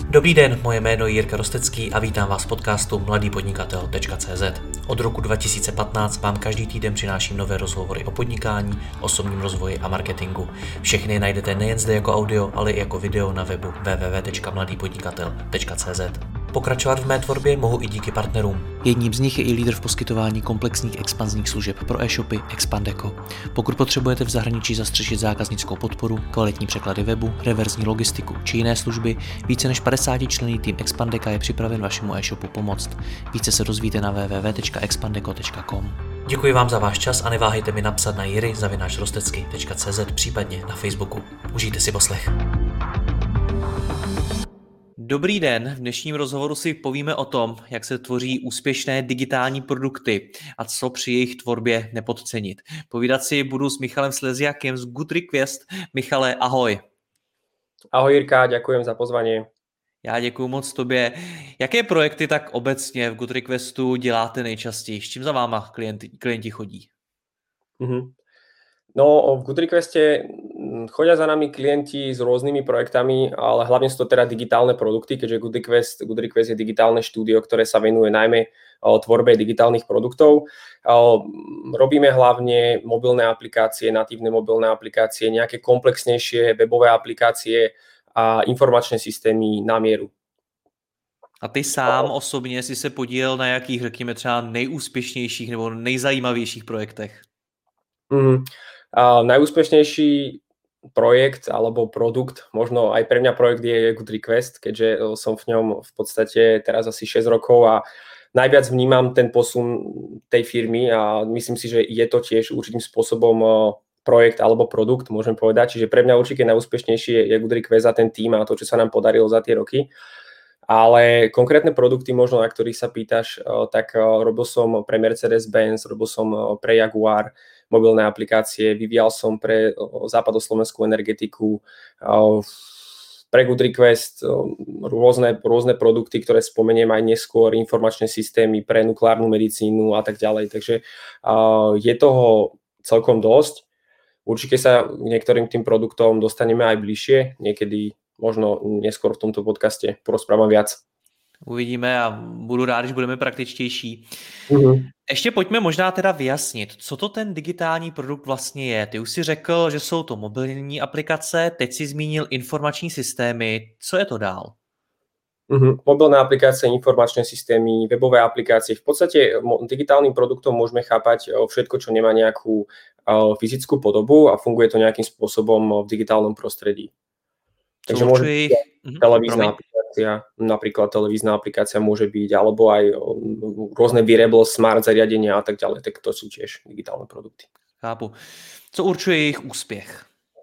Dobrý den, moje jméno je Jirka Rostecký a vítám vás v podcastu mladýpodnikatel.cz. Od roku 2015 vám každý týden přináším nové rozhovory o podnikání, osobním rozvoji a marketingu. Všechny najdete nejen zde jako audio, ale i jako video na webu www.mladýpodnikatel.cz. Pokračovat v mé tvorbě mohu i díky partnerům. Jedním z nich je i lídr v poskytování komplexních expanzních služeb pro e-shopy Expandeco. Pokud potřebujete v zahraničí zastřešit zákaznickou podporu, kvalitní překlady webu, reverzní logistiku či jiné služby, více než 50členný tým Expandeca je připraven vašemu e-shopu pomoct. Více se dozvíte na www.expandeco.com. Děkuji vám za váš čas a neváhejte mi napsat na jiry@rostecky.cz, případně na Facebooku. Užijte si poslech. Dobrý den, v dnešním rozhovoru si povíme o tom, jak se tvoří úspěšné digitální produkty a co při jejich tvorbě nepodcenit. Povídat si budu s Michalem Sleziakem z Good Request. Michale, ahoj. Ahoj Jirka, ďakujem za pozvanie. Já děkuju moc tobě. Jaké projekty tak obecně v Good Requestu děláte nejčastěji? S čím za váma klienti chodí? No, v Good Requeste chodia za nami klienti s rôznymi projektami, ale hlavne sú to teda digitálne produkty, keďže Good Request je digitálne štúdio, ktoré sa venuje najmä tvorbe digitálnych produktov. Robíme hlavne mobilné aplikácie, natívne mobilné aplikácie, nejaké komplexnejšie webové aplikácie a informačné systémy na mieru. A ty sám osobně si se podílel na jakých, řekněme, třeba nejúspěšnějších nebo nejzajímavějších projektech? Najúspešnejší projekt alebo produkt, možno aj pre mňa projekt je Good Request, keďže som v ňom v podstate teraz asi 6 rokov a najviac vnímam ten posun tej firmy a myslím si, že je to tiež určitým spôsobom projekt alebo produkt, môžem povedať. Čiže pre mňa určite najúspešnejší je Good Request za ten tým a to, čo sa nám podarilo za tie roky. Ale konkrétne produkty, možno na ktorých sa pýtaš, tak robil som pre Mercedes-Benz, robil som pre Jaguar mobilné aplikácie, vyvíjal som pre západoslovenskú energetiku, pre Good Request rôzne produkty, ktoré spomeniem aj neskôr, informačné systémy pre nukleárnu medicínu a tak ďalej. Takže je toho celkom dosť. Určite sa k niektorým tým produktom dostaneme aj bližšie, niekedy možno neskôr v tomto podcaste porozprávam viac. Uvidíme a budu rád, když budeme praktičtější. Ještě pojďme možná teda vyjasnit, co to ten digitální produkt vlastně je. Ty už si řekl, že jsou to mobilní aplikace, teď si zmínil informační systémy. Co je to dál? Mobilné aplikácie, informačné systémy, webové aplikácie. V podstate digitálnym produktom môžeme chápať všetko, čo nemá nejakú fyzickú podobu a funguje to nejakým spôsobom v digitálnom prostredí. Takže môže byť televízna aplikácia, napríklad televízna aplikácia môže byť, alebo aj rôzne wearable, smart zariadenia a tak ďalej, tak to sú tiež digitálne produkty. Chápu. Co určuje jejich úspěch?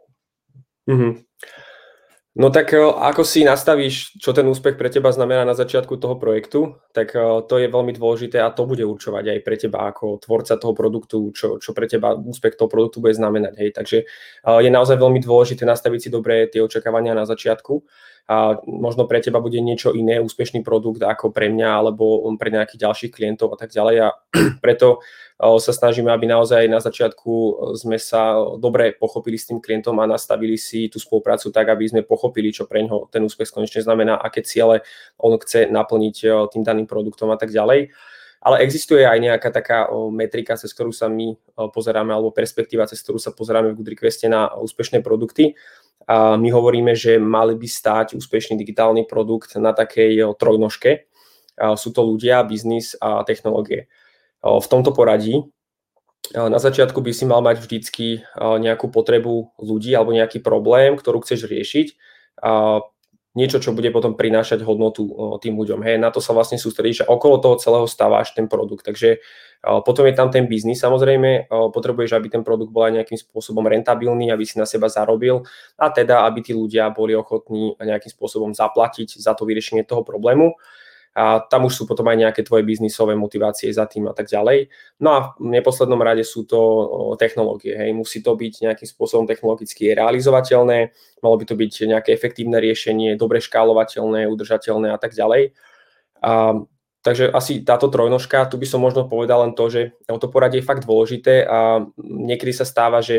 No tak ako si nastavíš, čo ten úspech pre teba znamená na začiatku toho projektu, tak to je veľmi dôležité a to bude určovať aj pre teba ako tvorca toho produktu, čo pre teba úspech toho produktu bude znamenať. Hej. Takže je naozaj veľmi dôležité nastaviť si dobre tie očakávania na začiatku. A možno pre teba bude niečo iné, úspešný produkt ako pre mňa alebo pre nejakých ďalších klientov a tak ďalej. A preto sa snažíme, aby naozaj na začiatku sme sa dobre pochopili s tým klientom a nastavili si tú spoluprácu tak, aby sme pochopili, čo pre ňoho ten úspech konečne znamená, aké ciele on chce naplniť tým daným produktom a tak ďalej. Ale existuje aj nejaká taká metrika, cez ktorú sa my pozeráme, alebo perspektíva, cez ktorú sa pozeráme v Good Requeste na úspešné produkty. A my hovoríme, že mali by stáť úspešný digitálny produkt na takej trojnožke. Sú to ľudia, biznis a technológie. V tomto poradí na začiatku by si mal mať vždycky nejakú potrebu ľudí alebo nejaký problém, ktorú chceš riešiť. Niečo, čo bude potom prinášať hodnotu tým ľuďom. Hej, na to sa vlastne sústredíš a okolo toho celého staváš ten produkt. Takže potom je tam ten biznis, samozrejme, potrebuješ, aby ten produkt bol aj nejakým spôsobom rentabilný, aby si na seba zarobil a teda, aby tí ľudia boli ochotní nejakým spôsobom zaplatiť za to vyriešenie toho problému. A tam už sú potom aj nejaké tvoje biznisové motivácie za tým a tak ďalej. No a v neposlednom rade sú to technológie. Hej. Musí to byť nejakým spôsobom technologicky realizovateľné, malo by to byť nejaké efektívne riešenie, dobre škálovateľné, udržateľné a tak ďalej. Takže asi táto trojnožka, tu by som možno povedal len to, že to poradie je fakt dôležité a niekedy sa stáva, že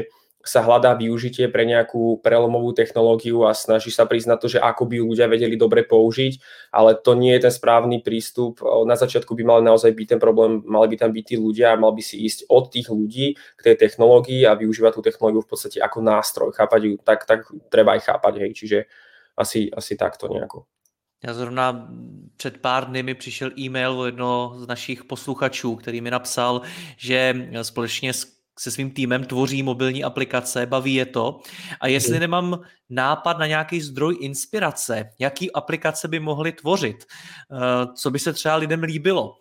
sa hľadá využitie pre nejakú prelomovú technológiu a snaží sa prísť na to, že ako by ju ľudia vedeli dobre použiť, ale to nie je ten správny prístup. Na začiatku by mal naozaj byť ten problém, mali by tam byť tí ľudia a mal by si ísť od tých ľudí k tej technológii a využívať tú technológiu v podstate ako nástroj. Chápať ju, tak treba aj chápať, hej, čiže asi takto nejako. Já zrovna před pár dny mi přišel e-mail od jednoho z našich posluchačů, který mi napsal, že společně se svým týmem tvoří mobilní aplikace, baví je to. A jestli nemám nápad na nějaký zdroj inspirace, jaký aplikace by mohly tvořit, co by se třeba lidem líbilo.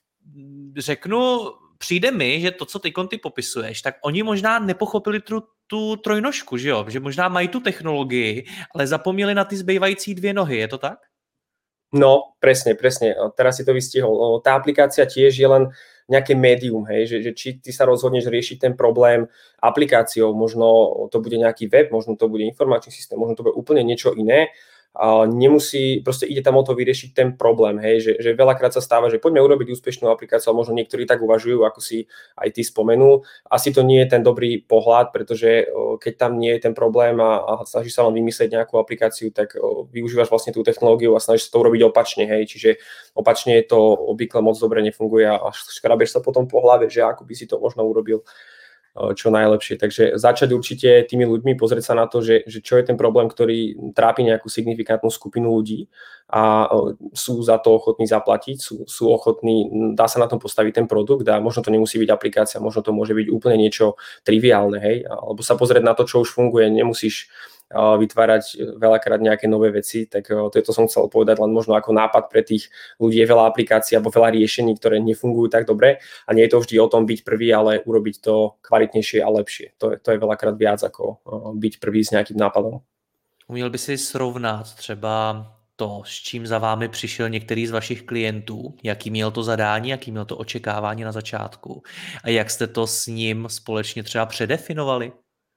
Řeknu, přijde mi, že to, co ty popisuješ, tak oni možná nepochopili tu trojnožku, že jo? Že možná mají tu technologii, ale zapomněli na ty zbývající 2 nohy, je to tak? No, presne. Teraz si to vystihol. Tá aplikácia tiež je len nejaké médium, hej, že či ty sa rozhodneš riešiť ten problém aplikáciou, možno to bude nejaký web, možno to bude informačný systém, možno to bude úplne niečo iné. Nemusí, proste ide tam o to vyriešiť ten problém, hej, že veľakrát sa stáva, že poďme urobiť úspešnú aplikáciu, a možno niektorí tak uvažujú, ako si aj ty spomenul. Asi to nie je ten dobrý pohľad, pretože keď tam nie je ten problém a snažíš sa len vymyslieť nejakú aplikáciu, tak využívaš vlastne tú technológiu a snažíš sa to urobiť opačne, hej, čiže opačne to obvykle moc dobre nefunguje a škrabeš sa potom po hlave, že ako by si to možno urobil čo najlepšie. Takže začať určite tými ľuďmi, pozrieť sa na to, že čo je ten problém, ktorý trápi nejakú signifikantnú skupinu ľudí a sú za to ochotní zaplatiť, sú ochotní, dá sa na tom postaviť ten produkt a možno to nemusí byť aplikácia, možno to môže byť úplne niečo triviálne, hej, alebo sa pozrieť na to, čo už funguje, nemusíš vytvárať veľakrát nejaké nové veci, tak to som chcel povedať len možno ako nápad pre tých ľudí. Je veľa aplikácií alebo veľa riešení, ktoré nefungujú tak dobre a nie je to vždy o tom byť prvý, ale urobiť to kvalitnejšie a lepšie. To je veľakrát viac ako byť prvý s nejakým nápadom. Uměl by si srovnat třeba to, s čím za vámi přišel některý z vašich klientů, jaký měl to zadání, jaký měl to očekávání na začátku a jak jste to s ním společně třeba předefinovali?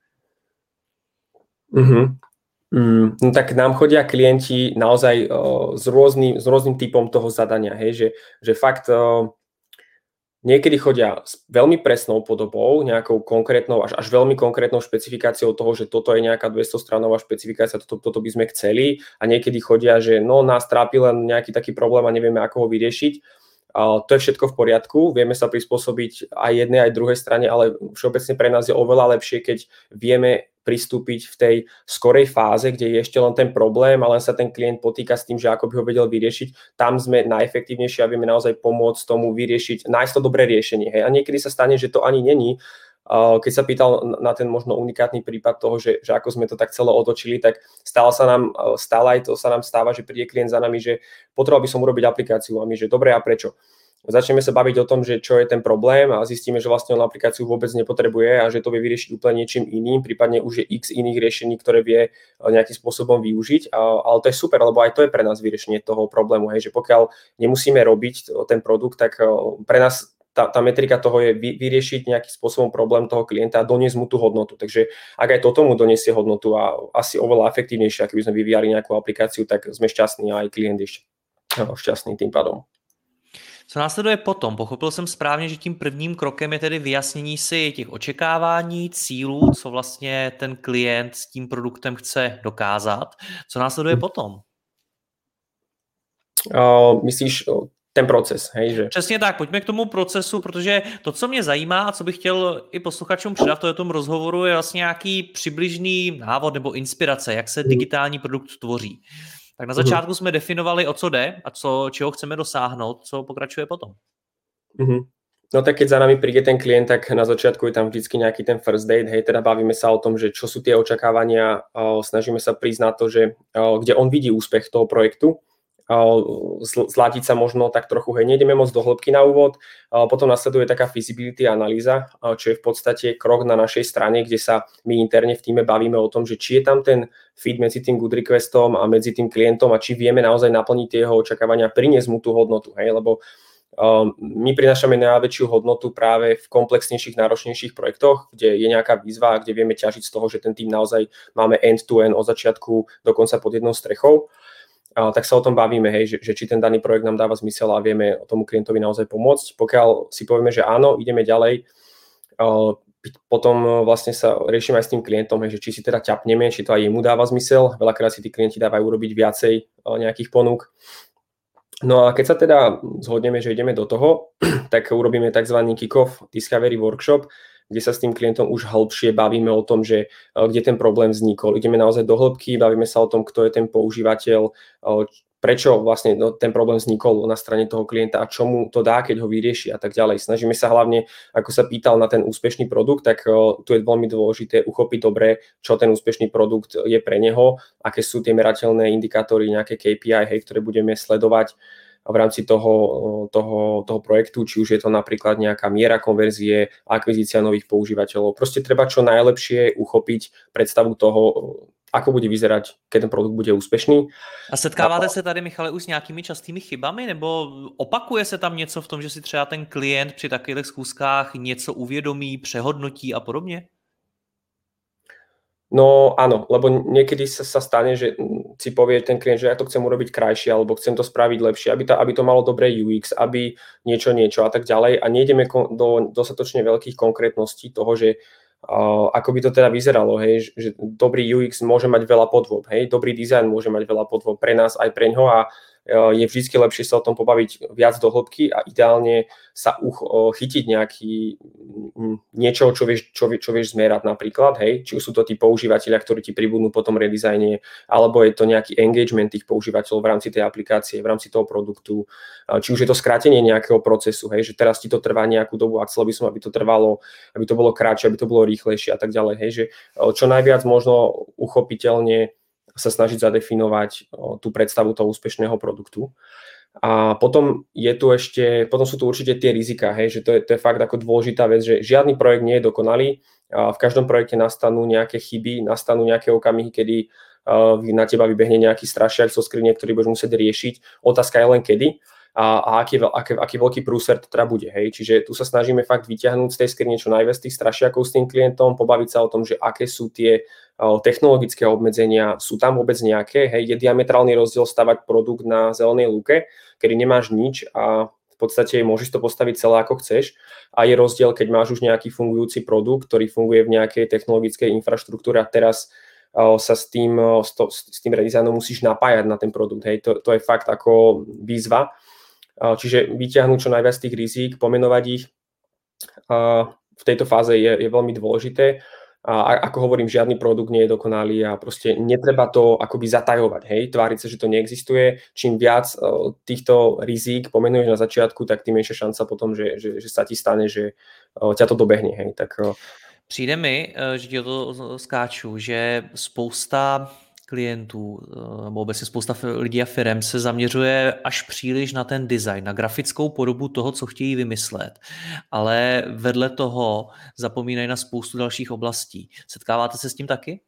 No tak nám chodia klienti naozaj s rôznym typom toho zadania, hej, že fakt niekedy chodia s veľmi presnou podobou, nejakou konkrétnou, až veľmi konkrétnou špecifikáciou toho, že toto je nejaká 200-stranová špecifikácia, toto by sme chceli a niekedy chodia, že no nás trápi len nejaký taký problém a nevieme, ako ho vyriešiť. To je všetko v poriadku, vieme sa prispôsobiť aj jednej, aj druhej strane, ale všeobecne pre nás je oveľa lepšie, keď vieme pristúpiť v tej skorej fáze, kde je ešte len ten problém a len sa ten klient potýka s tým, že ako by ho vedel vyriešiť. Tam sme najefektívnejší a vieme naozaj pomôcť tomu vyriešiť, nájsť to dobré riešenie. Hej. A niekedy sa stane, že to ani není. Keď sa pýtal na ten možno unikátny prípad toho, že ako sme to tak celé otočili, tak stále aj to sa nám stáva, že príde klient za nami, že potreboval by som urobiť aplikáciu a my, že dobre, a prečo? Začneme sa baviť o tom, že čo je ten problém a zistíme, že vlastne on aplikáciu vôbec nepotrebuje a že to vie vyriešiť úplne niečím iným, prípadne už je x iných riešení, ktoré vie nejakým spôsobom využiť, ale to je super, lebo aj to je pre nás vyriešenie toho problému, hej, že pokiaľ nemusíme robiť ten produkt, tak pre nás tá metrika toho je vyriešiť nejakým spôsobom problém toho klienta a doniesť mu tú hodnotu. Takže ak aj toto mu doniesie hodnotu a asi oveľa efektívnejšie, ak by sme vyvíjali nejakú aplikáciu, tak sme šťastní a aj klient je šťastný tým pádom. Co následuje potom? Pochopil jsem správně, že tím prvním krokem je tedy vyjasnění si těch očekávání, cílů, co vlastně ten klient s tím produktem chce dokázat. Co následuje potom? Myslíš ten proces, hej? Že... Přesně tak, pojďme k tomu procesu, protože to, co mě zajímá a co bych chtěl i posluchačům předat v tom rozhovoru, je vlastně nějaký přibližný návod nebo inspirace, jak se digitální produkt tvoří. Tak na začátku jsme definovali, o co jde a čeho chceme dosáhnout, co pokračuje potom. No tak keď za nami príde ten klient, tak na začiatku je tam vždycky nejaký ten first date, hej, teda bavíme sa o tom, že čo sú tie očakávania, snažíme sa prísť na to, že kde on vidí úspech toho projektu, zladiť sa možno tak trochu, hej, nejdeme moc do hĺbky na úvod, potom nasleduje taká feasibility analýza, čo je v podstate krok na našej strane, kde sa my interne v týme bavíme o tom, že či je tam ten fit medzi tým good requestom a medzi tým klientom a či vieme naozaj naplniť tie jeho očakávania, priniesť mu tú hodnotu, hej, lebo my prinášame najväčšiu hodnotu práve v komplexnejších, náročnejších projektoch, kde je nejaká výzva, kde vieme ťažiť z toho, že ten tým naozaj máme end-to-end od začiatku do konca pod jednou strechou. Tak sa o tom bavíme, hej, že či ten daný projekt nám dáva zmysel a vieme tomu klientovi naozaj pomôcť. Pokiaľ si povieme, že áno, ideme ďalej, potom vlastne sa riešime aj s tým klientom, že či si teda ťapneme, či to aj jemu dáva zmysel. Veľakrát si tí klienti dávajú urobiť viacej nejakých ponúk. No a keď sa teda zhodneme, že ideme do toho, tak urobíme tzv. Kick-off Discovery Workshop, kde sa s tým klientom už hĺbšie bavíme o tom, že kde ten problém vznikol. Ideme naozaj do hĺbky, bavíme sa o tom, kto je ten používateľ, prečo vlastne ten problém vznikol na strane toho klienta a čo mu to dá, keď ho vyrieši a tak ďalej. Snažíme sa hlavne, ako sa pýtal na ten úspešný produkt, tak tu je veľmi dôležité uchopiť dobre, čo ten úspešný produkt je pre neho, aké sú tie merateľné indikátory, nejaké KPI, ktoré budeme sledovať v rámci toho projektu, či už je to napríklad nejaká miera konverzie, akvizícia nových používateľov. Proste treba čo najlepšie uchopiť predstavu toho, ako bude vyzerať, keď ten produkt bude úspešný. A setkáváte se tady, Michale, už s nějakými častými chybami, nebo opakuje se tam něco v tom, že si třeba ten klient při takových schůzkách něco uvědomí, přehodnotí a podobně? No áno, lebo niekedy sa stane, že si povie ten klient, že ja to chcem urobiť krajšie, alebo chcem to spraviť lepšie, aby to malo dobré UX, aby niečo a tak ďalej. A nejdeme do dostatočne veľkých konkrétností toho, že ako by to teda vyzeralo, hej, že dobrý UX môže mať veľa podôb, hej, dobrý dizajn môže mať veľa podôb pre nás aj pre ňoho a je vždy lepšie sa o tom pobaviť viac do hĺbky a ideálne sa chytiť niečo, čo vieš zmerať napríklad, hej, či už sú to tí používateľia, ktorí ti pribudnú po tom redizajne, alebo je to nejaký engagement tých používateľov v rámci tej aplikácie, v rámci toho produktu, či už je to skrátenie nejakého procesu, hej, že teraz ti to trvá nejakú dobu a chcel by som, aby to trvalo, aby to bolo krátšie, aby to bolo rýchlejšie a tak ďalej, hej, že čo najviac možno uchopiteľne sa snažiť zadefinovať tú predstavu toho úspešného produktu. A potom sú tu určite tie rizika, hej, že to je fakt ako dôležitá vec, že žiadny projekt nie je dokonalý. V každom projekte nastanú nejaké chyby, nastanú nejaké okamihy, kedy na teba vybehne nejaký strašiak zo skrine, ktorý budeš musieť riešiť. Otázka je len kedy a aký veľký prúser to teda bude. Hej. Čiže tu sa snažíme fakt vyťahnuť z tej skrine čo najviac tých strašiakov s tým klientom, pobaviť sa o tom, že aké sú tie technologické obmedzenia, sú tam vôbec nejaké. Hej. Je diametrálny rozdiel stavať produkt na zelenej lúke, kedy nemáš nič a v podstate môžeš to postaviť celé ako chceš. A je rozdiel, keď máš už nejaký fungujúci produkt, ktorý funguje v nejakej technologickej infraštruktúre a teraz sa s tým redizajnom musíš napájať na ten produkt. Hej. To je fakt ako výzva. Čiže vyťahnuť čo najviac tých rizík, pomenovať ich v tejto fáze je veľmi dôležité. A ako hovorím, žiadny produkt nie je dokonalý a proste netreba to akoby zatajovať, hej, tváriť sa, že to neexistuje. Čím viac týchto rizík pomenuješ na začiatku, tak tým menšia šanca potom, že sa ti stane, že ťa to dobehne, hej. Přijde mi, že ti to skáču, že spousta klientů nebo obecně spousta lidí a firem se zaměřuje až příliš na ten design, na grafickou podobu toho, co chtějí vymyslet. Ale vedle toho zapomínají na spoustu dalších oblastí. Setkáváte se s tím taky?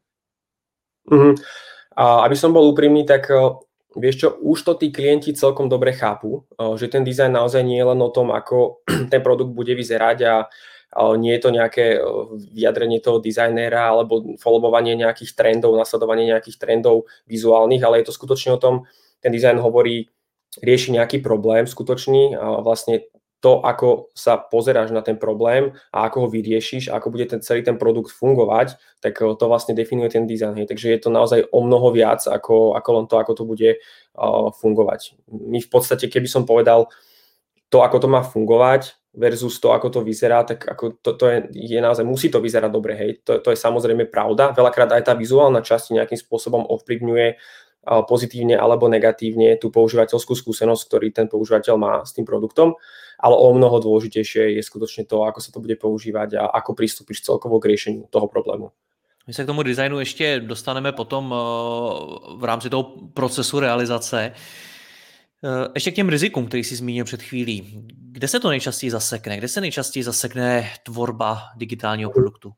A aby som bol úprimný, tak vieš čo, už to tí klienti celkom dobre chápu, že ten dizajn naozaj nie je len o tom, ako ten produkt bude vyzerať a nie je to nejaké vyjadrenie toho dizajnéra alebo followovanie nejakých trendov, nasledovanie nejakých trendov vizuálnych, ale je to skutočne o tom, ten dizajn rieši nejaký problém skutočný a vlastne to, ako sa pozeráš na ten problém a ako ho vyriešiš, ako bude celý ten produkt fungovať, tak to vlastne definuje ten dizajn. Takže je to naozaj o mnoho viac ako len to, ako to bude fungovať. My v podstate, keby som povedal to, ako to má fungovať versus to, ako to vyzerá, tak ako to je naozaj, musí to vyzerať dobre, hej. To je samozrejme pravda. Veľakrát aj tá vizuálna časť nejakým spôsobom ovplyvňuje pozitívne alebo negatívne tú používateľskú skúsenosť, ktorý ten používateľ má s tým produktom, ale o mnoho dôležitejšie je skutočne to, ako sa to bude používať a ako pristúpiš celkovo k riešeniu toho problému. My se k tomu designu ještě dostaneme potom v rámci toho procesu realizace. Ještě k těm rizikům, který jsi zmínil před chvílí. Kde se to nejčastěji zasekne? Kde se nejčastěji zasekne tvorba digitálního produktu?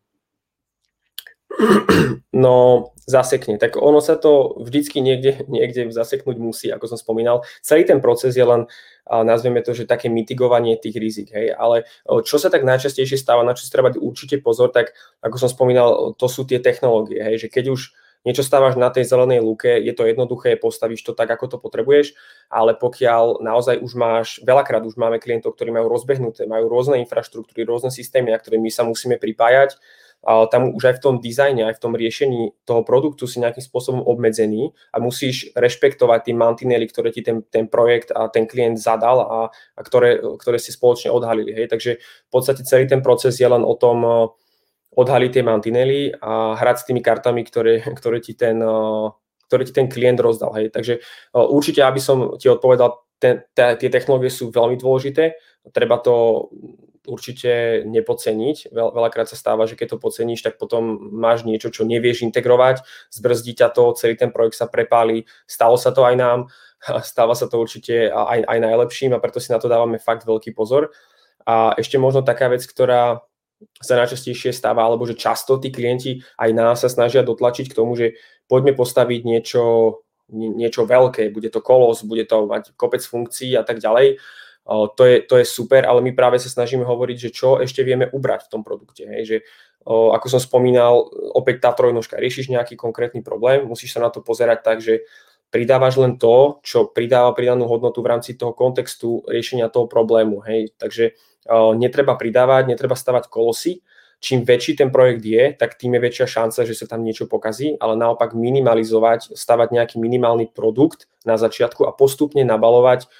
No, zasekne. Tak ono sa to vždycky niekde zaseknúť musí, ako som spomínal. Celý ten proces je len, nazvieme to, že také mitigovanie tých rizik. Hej. Ale čo sa tak najčastejšie stáva, na čo si treba určite pozor, tak ako som spomínal, to sú tie technológie. Hej. Že keď už niečo stávaš na tej zelenej lúke, je to jednoduché, postavíš to tak, ako to potrebuješ, ale pokiaľ naozaj už veľakrát už máme klientov, ktorí majú rozbehnuté, majú rôzne infraštruktúry, rôzne systémy, na ktoré my sa musíme pripájať, tam už aj v tom dizajne, aj v tom riešení toho produktu si nejakým spôsobom obmedzený a musíš rešpektovať tie mantinely, ktoré ti ten projekt a ten klient zadal a ktoré si spoločne odhalili. Hej. Takže v podstate celý ten proces je len o tom odhaliť tie mantinely a hrať s tými kartami, ktoré ti ten klient rozdal. Hej. Takže určite, aby som ti odpovedal, tie technológie sú veľmi dôležité, treba to určite nepodceniť. Veľakrát sa stáva, že keď to podceníš, tak potom máš niečo, čo nevieš integrovať, zbrzdí ťa to, celý ten projekt sa prepálí. Stalo sa to aj nám, stáva sa to určite aj najlepším a preto si na to dávame fakt veľký pozor. A ešte možno taká vec, ktorá sa najčastejšie stáva, alebo že často tí klienti aj nás sa snažia dotlačiť k tomu, že poďme postaviť niečo veľké, bude to kolos, bude to mať kopec funkcií a tak ďalej. To je super, ale my práve sa snažíme hovoriť, že čo ešte vieme ubrať v tom produkte. Hej? Že, ako som spomínal, opäť tá trojnožka, riešiš nejaký konkrétny problém, musíš sa na to pozerať tak, že pridávaš len to, čo pridáva pridanú hodnotu v rámci toho kontextu riešenia toho problému. Hej? Takže netreba pridávať, netreba stavať kolosy. Čím väčší ten projekt je, tak tým je väčšia šanca, že sa tam niečo pokazí, ale naopak minimalizovať, stavať nejaký minimálny produkt na začiatku a postupne nabalovať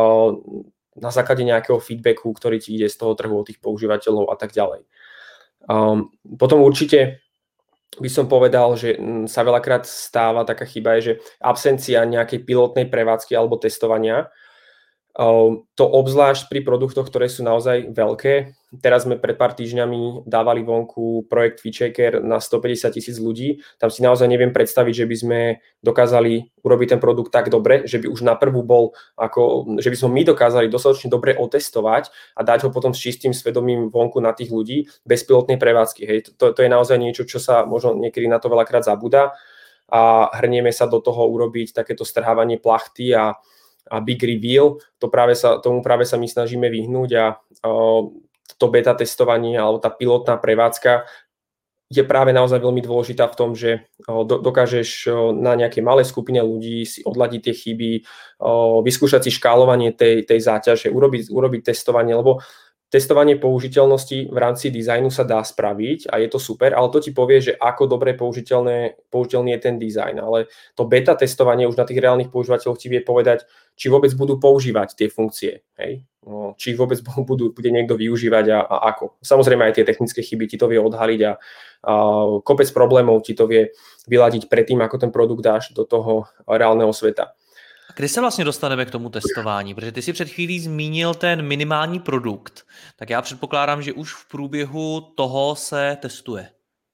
na základe nejakého feedbacku, ktorý ti ide z toho trhu od tých používateľov a tak ďalej. Potom určite by som povedal, že sa veľakrát stáva taká chyba, je, že absencia nejakej pilotnej prevádzky alebo testovania. To obzvlášť pri produktoch, ktoré sú naozaj veľké. Teraz sme pred pár týždňami dávali vonku projekt FeatureCare na 150,000 ľudí. Tam si naozaj neviem predstaviť, že by sme dokázali urobiť ten produkt tak dobre, že by už na prvú že by sme my dokázali dostatočne dobre otestovať a dať ho potom s čistým svedomím vonku na tých ľudí bez pilotnej prevádzky. Hej. To je naozaj niečo, čo sa možno niekedy na to veľakrát zabúda a hrnieme sa do toho urobiť takéto strhávanie plachty a big reveal, tomu práve sa my snažíme vyhnúť a to beta testovanie alebo tá pilotná prevádzka je práve naozaj veľmi dôležitá v tom, že dokážeš na nejakej malej skupine ľudí si odladiť tie chyby, vyskúšať si škálovanie tej záťaže, urobiť testovanie, lebo testovanie použiteľnosti v rámci dizajnu sa dá spraviť a je to super, ale to ti povie, že ako dobre použiteľný je ten dizajn. Ale to beta testovanie už na tých reálnych používateľoch ti vie povedať, či vôbec budú používať tie funkcie. Hej? Či ich vôbec bude niekto využívať a ako. Samozrejme aj tie technické chyby ti to vie odhaliť a kopec problémov ti to vie vyladiť predtým, ako ten produkt dáš do toho reálneho sveta. Kdy se vlastně dostaneme k tomu testování? Protože ty si před chvílí zmínil ten minimální produkt, tak já předpokládám, že už v průběhu toho se testuje.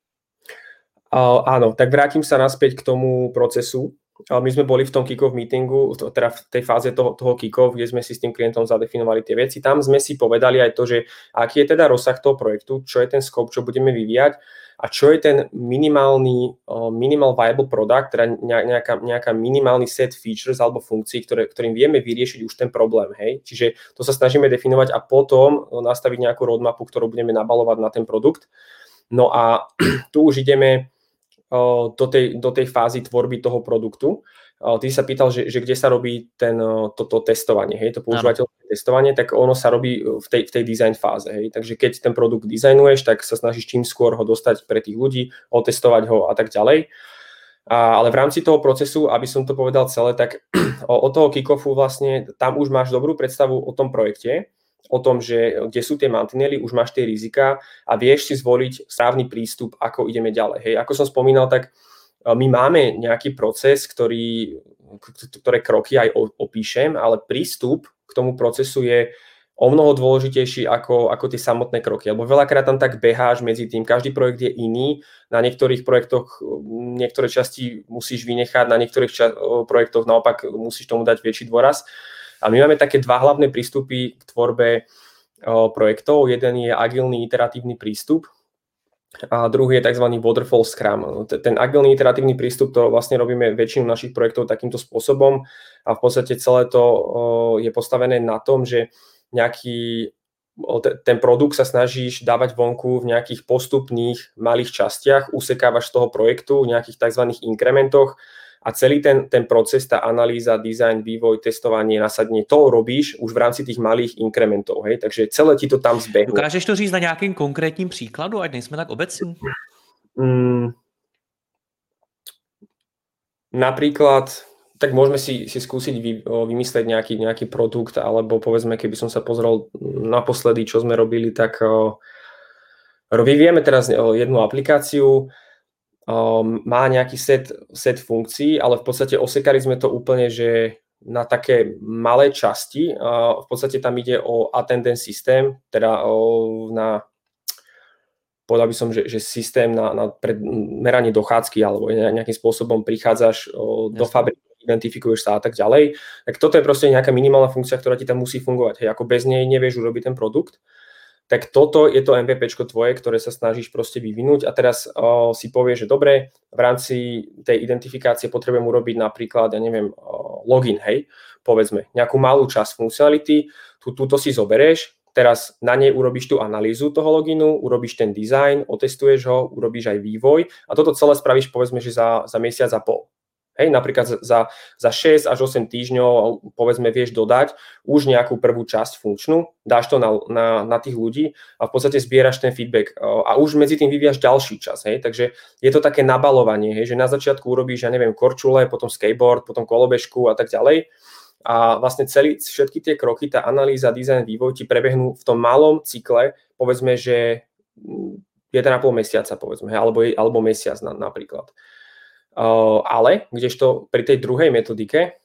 Áno, tak vrátim sa naspäť k tomu procesu. My sme boli v tom kick-off meetingu, teda v tej fáze toho kick-off, kde sme si s tým klientom zadefinovali tie veci. Tam sme si povedali aj to, že aký je teda rozsah toho projektu, čo je ten scope, čo budeme vyvíjať a čo je ten minimal viable product, teda nejaká minimálny set features alebo funkcií, ktorým vieme vyriešiť už ten problém. Hej? Čiže to sa snažíme definovať a potom nastaviť nejakú roadmapu, ktorú budeme nabalovať na ten produkt. No a tu už ideme do tej fázy tvorby toho produktu. Ty sa pýtal, že kde sa robí toto testovanie, hej, to používateľské testovanie, tak ono sa robí v tej design fáze. Hej. Takže keď ten produkt dizajnuješ, tak sa snažíš čím skôr ho dostať pre tých ľudí, otestovať ho a tak ďalej. Ale v rámci toho procesu, aby som to povedal celé, tak od toho kick-offu vlastne tam už máš dobrú predstavu o tom projekte, o tom, že kde sú tie mantinely, už máš tie rizika a vieš si zvoliť správny prístup, ako ideme ďalej. Hej. Ako som spomínal, tak my máme nejaký proces, ktoré kroky aj opíšem, ale prístup k tomu procesu je o mnoho dôležitejší ako tie samotné kroky. Lebo veľakrát tam tak beháš medzi tým, každý projekt je iný, na niektorých projektoch niektoré časti musíš vynechať, na niektorých projektoch naopak musíš tomu dať väčší dôraz. A my máme také dva hlavné prístupy k tvorbe projektov. Jeden je agilný iteratívny prístup a druhý je tzv. Waterfall Scrum. Ten agilný iteratívny prístup, to vlastne robíme väčšinu našich projektov takýmto spôsobom a v podstate celé to je postavené na tom, že nejaký ten produkt sa snažíš dávať vonku v nejakých postupných malých častiach, usekávaš z toho projektu v nejakých tzv. Inkrementoch a celý ten proces, tá analýza, design, vývoj, testovanie, nasadenie, to robíš už v rámci tých malých inkrementov. Hej? Takže celé ti to tam zbehne. Dokážeš to říct na nějakým konkrétním příkladu, ať nejsme tak obecní? Napríklad, tak môžeme si skúsiť vymyslieť nejaký produkt, alebo povedzme, keby som sa pozrel naposledy, čo sme robili, tak vyvíjame teraz jednu aplikáciu, má nejaký set funkcií, ale v podstate osekali sme to úplne, že na také malé časti. V podstate tam ide o attendance systém, teda povedal by som, že systém na meranie dochádzky alebo nejakým spôsobom prichádzaš do fabriky, identifikuješ sa a tak ďalej. Tak toto je proste nejaká minimálna funkcia, ktorá ti tam musí fungovať. Hej, ako bez nej nevieš urobiť ten produkt. Tak toto je to MVPčko tvoje, ktoré sa snažíš proste vyvinúť a teraz si povieš, že dobre, v rámci tej identifikácie potrebujem urobiť napríklad, ja neviem, login, hej, povedzme, nejakú malú časť funkcionality, túto si zoberieš, teraz na nej urobíš tú analýzu toho loginu, urobíš ten design, otestuješ ho, urobíš aj vývoj a toto celé spravíš povedzme, že za mesiac a pol. Hej, napríklad za 6 až 8 týždňov povedzme vieš dodať už nejakú prvú časť funkčnú, dáš to na tých ľudí a v podstate zbieraš ten feedback a už medzi tým vyvíjaš ďalší čas. Hej, takže je to také nabalovanie, hej, že na začiatku urobíš, ja neviem, korčule, potom skateboard, potom kolobežku a tak ďalej. A vlastne všetky tie kroky, tá analýza, design, vývoj ti prebehnú v tom malom cykle, povedzme, že 1,5 mesiaca, povedzme, alebo mesiac napríklad. Ale kdežto pri tej druhej metodike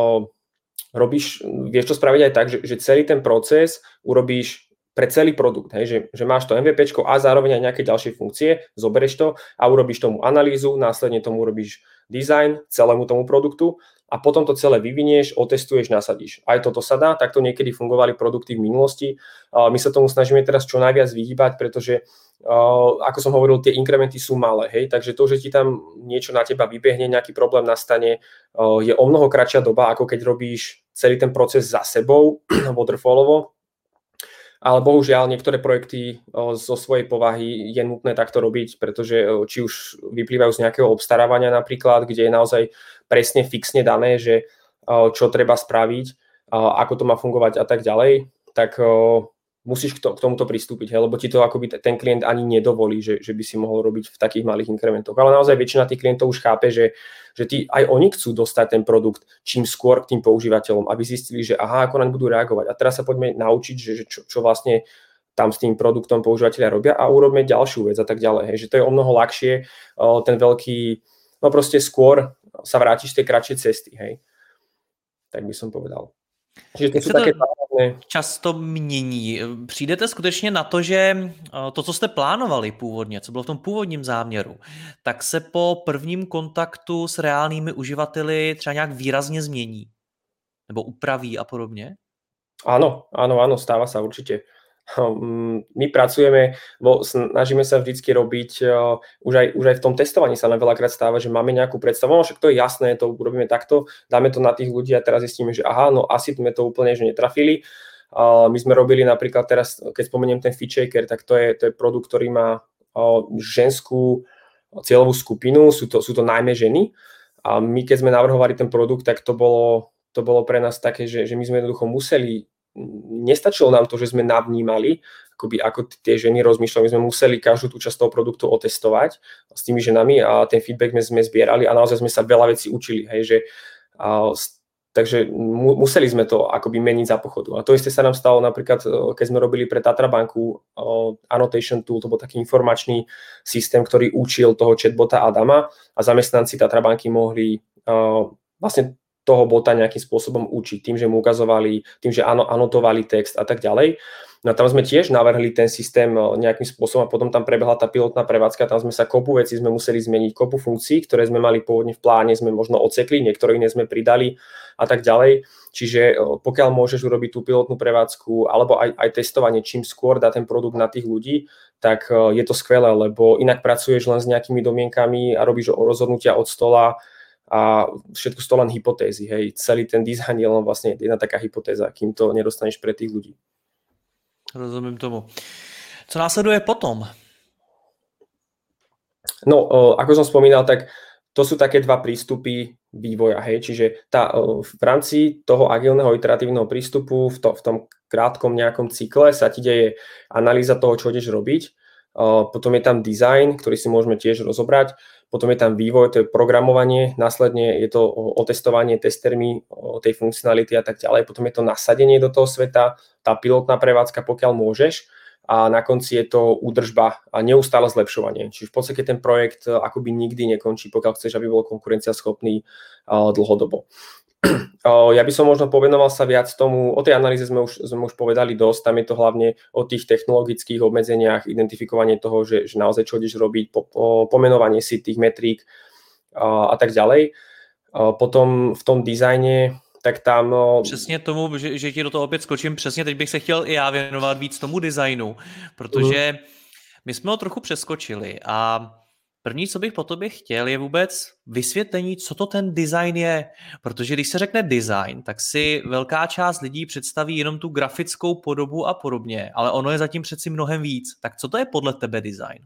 vieš to spraviť aj tak, že celý ten proces urobíš pre celý produkt, hej, že máš to MVPčko a zároveň aj nejaké ďalšie funkcie, zoberieš to a urobíš tomu analýzu, následne tomu urobíš design celému tomu produktu a potom to celé vyvinieš, otestuješ, nasadíš. Aj toto sa dá, takto niekedy fungovali produkty v minulosti. My sa tomu snažíme teraz čo najviac vyhýbať, pretože ako som hovoril, tie inkrementy sú malé, hej, takže to, že ti tam niečo na teba vybehne, nejaký problém nastane, je o mnoho kratšia doba, ako keď robíš celý ten proces za sebou, waterfallovo. Ale bohužiaľ niektoré projekty zo svojej povahy je nutné takto robiť, pretože či už vyplývajú z nejakého obstarávania napríklad, kde je naozaj presne fixne dané, že čo treba spraviť, ako to má fungovať a tak ďalej, tak musíš k tomuto pristúpiť, lebo ti to akoby ten klient ani nedovolí, že by si mohol robiť v takých malých inkrementoch. Ale naozaj väčšina tých klientov už chápe, že aj oni chcú dostať ten produkt čím skôr k tým používateľom, aby zistili, že aha, ako naň budú reagovať. A teraz sa poďme naučiť, že čo vlastne tam s tým produktom používateľia robia a urobme ďalšiu vec a tak ďalej. Hej. Že to je o mnoho ľahšie, ten veľký, no proste skôr sa vrátiš z tej kratšej cesty. Hej. Tak by som povedal. Že to sú také často mění. Přijdete skutečně na to, že to, co jste plánovali původně, co bylo v tom původním záměru, tak se po prvním kontaktu s reálnými uživateli třeba nějak výrazně změní? Nebo upraví a podobně? Áno, stáva sa určite. My pracujeme, snažíme sa vždycky robiť, už aj v tom testovaní sa nám veľakrát stáva, že máme nejakú predstavu, no však to je jasné, to urobíme takto, dáme to na tých ľudí a teraz zistíme, že aha, no asi sme to úplne že netrafili. My sme robili napríklad teraz, keď spomeniem ten FitShaker, tak to je produkt, ktorý má ženskú cieľovú skupinu, sú to najmä ženy a my keď sme navrhovali ten produkt, tak to bolo pre nás také, že my sme jednoducho museli, nestačilo nám to, že sme navnímali, ako tie ženy rozmýšľali, my sme museli každú tú časť toho produktu otestovať s tými ženami a ten feedback sme zbierali a naozaj sme sa veľa vecí učili, hej, že takže museli sme to akoby meniť za pochodu. A to isté sa nám stalo napríklad, keď sme robili pre Tatra banku Annotation Tool, to bol taký informačný systém, ktorý učil toho chatbota Adama a zamestnanci Tatra banky mohli vlastne toho bota nejakým spôsobom učiť, tým, že mu ukazovali, tým, že anotovali text a tak ďalej. No a tam sme tiež navrhli ten systém nejakým spôsobom a potom tam prebehla tá pilotná prevádzka, tam sme sa kopu vecí sme museli zmeniť, kopu funkcií, ktoré sme mali pôvodne v pláne, sme možno odsekli, niektoré iné sme pridali a tak ďalej. Čiže pokiaľ môžeš urobiť tú pilotnú prevádzku alebo aj testovanie, čím skôr dá ten produkt na tých ľudí, tak je to skvelé, lebo inak pracuješ len s nejakými domienkami a robíš rozhodnutia od stola, a všetko sú to len hypotézy, hej. Celý ten design je len vlastne jedna taká hypotéza, kým to nedostaneš pre tých ľudí. Rozumím tomu. Co následuje potom? No, ako som spomínal, tak to sú také dva prístupy vývoja, hej, čiže v rámci toho agilného iteratívneho prístupu v tom krátkom nejakom cykle sa ti deje analýza toho, čo ideš robiť, potom je tam design, ktorý si môžeme tiež rozobrať, potom je tam vývoj, to je programovanie, následne je to otestovanie testermi tej funkcionality a tak ďalej, potom je to nasadenie do toho sveta, tá pilotná prevádzka, pokiaľ môžeš, a na konci je to údržba a neustále zlepšovanie. Čiže v podstate ten projekt akoby nikdy nekončí, pokiaľ chceš, aby bol konkurenciaschopný dlhodobo. Ja by som možno povenoval sa viac tomu, o tej analýze sme už povedali dosť, tam je to hlavne o tých technologických obmedzeniach, identifikovanie toho, že naozaj čo ideš robiť, pomenovanie si tých metrík a tak ďalej. Potom v tom dizajne tak tam... Přesně tomu, že ti do toho opět skočím, přesně teď bych se chtěl i já věnovat víc tomu designu, protože my jsme ho trochu přeskočili a první, co bych po tobě chtěl, je vůbec vysvětlení, co to ten design je, protože když se řekne design, tak si velká část lidí představí jenom tu grafickou podobu a podobně, ale ono je zatím přeci mnohem víc. Tak co to je podle tebe design?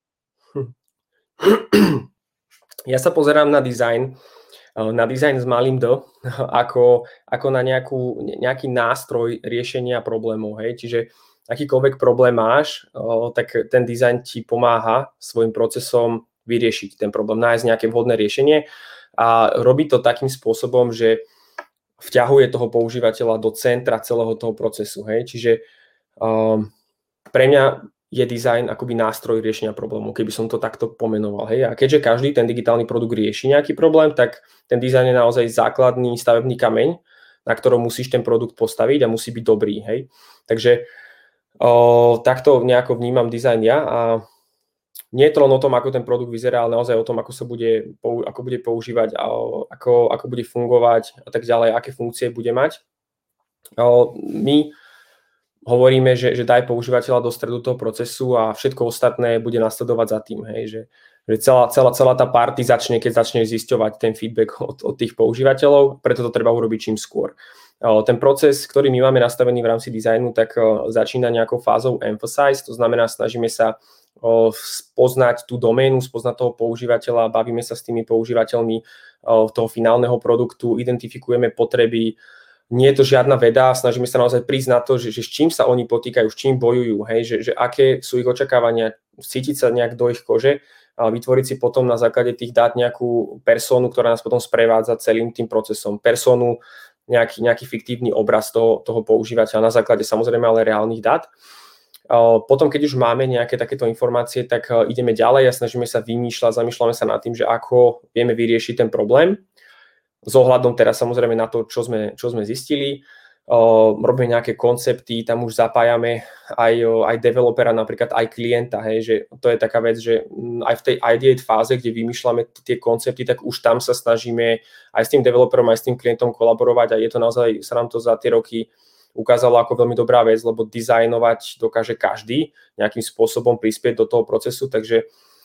Ja sa pozerám na design s malým D, ako na nejaký nástroj riešenia problémov. Hej? Čiže akýkoľvek problém máš, tak ten design ti pomáha svojim procesom vyriešiť ten problém, nájsť nejaké vhodné riešenie a robí to takým spôsobom, že vťahuje toho používateľa do centra celého toho procesu. Hej? Čiže pre mňa je design akoby nástroj riešenia problémov, keby som to takto pomenoval. Hej? A keďže každý ten digitálny produkt rieši nejaký problém, tak ten design je naozaj základný stavebný kameň, na ktorom musíš ten produkt postaviť a musí byť dobrý. Hej? Takže takto nejako vnímam design ja a nie je to len o tom, ako ten produkt vyzerá, ale naozaj o tom, ako bude používať, ako bude fungovať a tak ďalej, aké funkcie bude mať. My hovoríme, že daj používateľa do stredu toho procesu a všetko ostatné bude nasledovať za tým. Hej? Že celá tá party začne, keď začneš zisťovať ten feedback od tých používateľov, preto to treba urobiť čím skôr. Ten proces, ktorý my máme nastavený v rámci dizajnu, tak začína nejakou fázou emphasize, to znamená, snažíme sa spoznať tú doménu, spoznať toho používateľa, bavíme sa s tými používateľmi toho finálneho produktu, identifikujeme potreby. Nie je to žiadna veda, snažíme sa naozaj prísť na to, že s čím sa oni potýkajú, s čím bojujú, hej? Že aké sú ich očakávania, cítiť sa nejak do ich kože a vytvoriť si potom na základe tých dát nejakú personu, ktorá nás potom sprevádza celým tým procesom. Personu, nejaký fiktívny obraz toho používateľa na základe samozrejme ale reálnych dát. Potom, keď už máme nejaké takéto informácie, tak ideme ďalej a snažíme sa zamýšľame sa nad tým, že ako vieme vyriešiť ten problém. S ohľadom teraz samozrejme na to, čo sme zistili. Robíme nejaké koncepty, tam už zapájame aj developera, napríklad aj klienta. Hej, že to je taká vec, že aj v tej ideate fáze, kde vymýšľame tie koncepty, tak už tam sa snažíme aj s tým developerom, aj s tým klientom kolaborovať a je to naozaj, sa nám to za tie roky ukázalo ako veľmi dobrá vec, lebo dizajnovať dokáže každý nejakým spôsobom prispieť do toho procesu, takže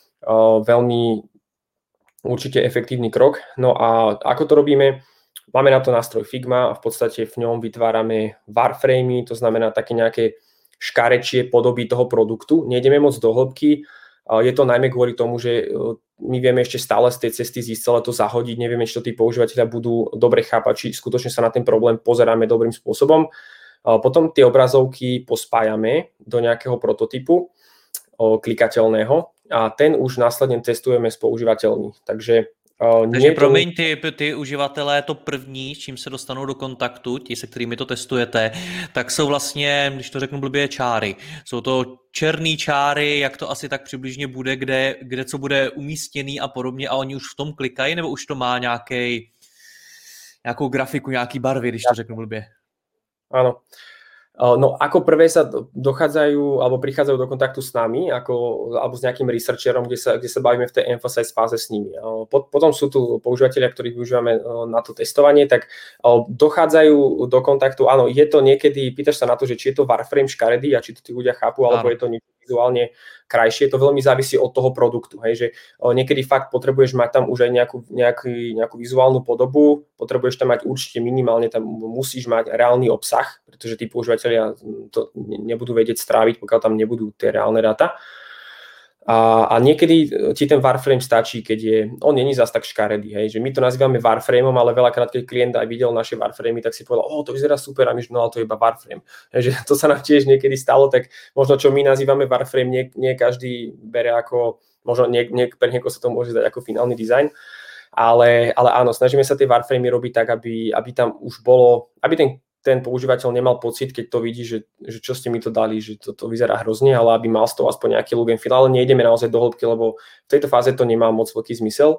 veľmi určite efektívny krok. No a ako to robíme? Máme na to nástroj Figma a v podstate v ňom vytvárame wireframey, to znamená také nejaké škarečie podoby toho produktu. Nejdeme moc do hĺbky, je to najmä kvôli tomu, že my vieme ešte stále z tej cesty zísť celé to zahodiť, nevieme, či to tí používateľia budú dobre chápať, či skutočne sa na ten problém pozeráme dobrým spôsobom. Potom tie obrazovky pospájame do nejakého prototypu klikateľného a ten už následne testujeme s používateľmi. Takže promiň, ty uživatelé, to první, s čím se dostanou do kontaktu, ti, se kterými to testujete, tak jsou vlastně, když to řeknu blbě, čáry. Jsou to černý čáry, jak to asi tak přibližně bude, kde co bude umístěný a podobně a oni už v tom klikají, nebo už to má nějakou grafiku, nějaký barvy, když to řeknu blbě? Áno. No ako prvé sa dochádzajú alebo prichádzajú do kontaktu s nami alebo s nejakým researcherom, kde sa bavíme v tej emphasize fáze s nimi. Potom sú tu používateľia, ktorých využívame na to testovanie, tak dochádzajú do kontaktu. Áno, je to niekedy, pýtaš sa na to, že či je to wireframe škaredý a či to tí ľudia chápu, alebo je to niečo vizuálne krajšie, to veľmi závisí od toho produktu, hej, že niekedy fakt potrebuješ mať tam už aj nejakú vizuálnu podobu, potrebuješ tam mať určite minimálne, tam musíš mať reálny obsah, pretože tí používateľia to nebudú vedieť stráviť, pokiaľ tam nebudú tie reálne dáta. A niekedy ti ten Warframe stačí, keď on není zas tak škaredý, hej, že my to nazývame Warframeom, ale veľakrát, keď klient aj videl naše Warframey, tak si povedal, to vyzerá super, a my, no ale to je iba Warframe. Že to sa nám tiež niekedy stalo, tak možno čo my nazývame Warframe, nie každý bere ako, možno pre niekoho sa to môže zdať ako finálny dizajn, ale áno, snažíme sa tie Warframey robiť tak, aby tam už bolo, aby ten používateľ nemal pocit, keď to vidí, že čo ste mi to dali, že to vyzerá hrozne, ale aby mal z toho aspoň nejaký look and feel, ale nejdeme naozaj do hĺbky, lebo v tejto fáze to nemá moc veľký zmysel.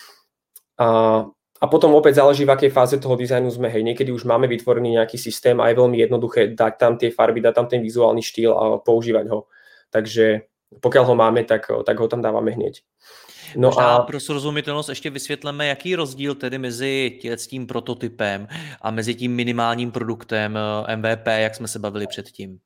A potom opäť záleží, v akej fáze toho dizajnu sme. Hej, niekedy už máme vytvorený nejaký systém a je veľmi jednoduché dať tam tie farby, dať tam ten vizuálny štýl a používať ho. Takže pokiaľ ho máme, tak ho tam dávame hneď. No možná pro srozumitelnost ještě vysvětleme, jaký je rozdíl tedy mezi tím prototypem a mezi tím minimálním produktem MVP, jak jsme se bavili předtím.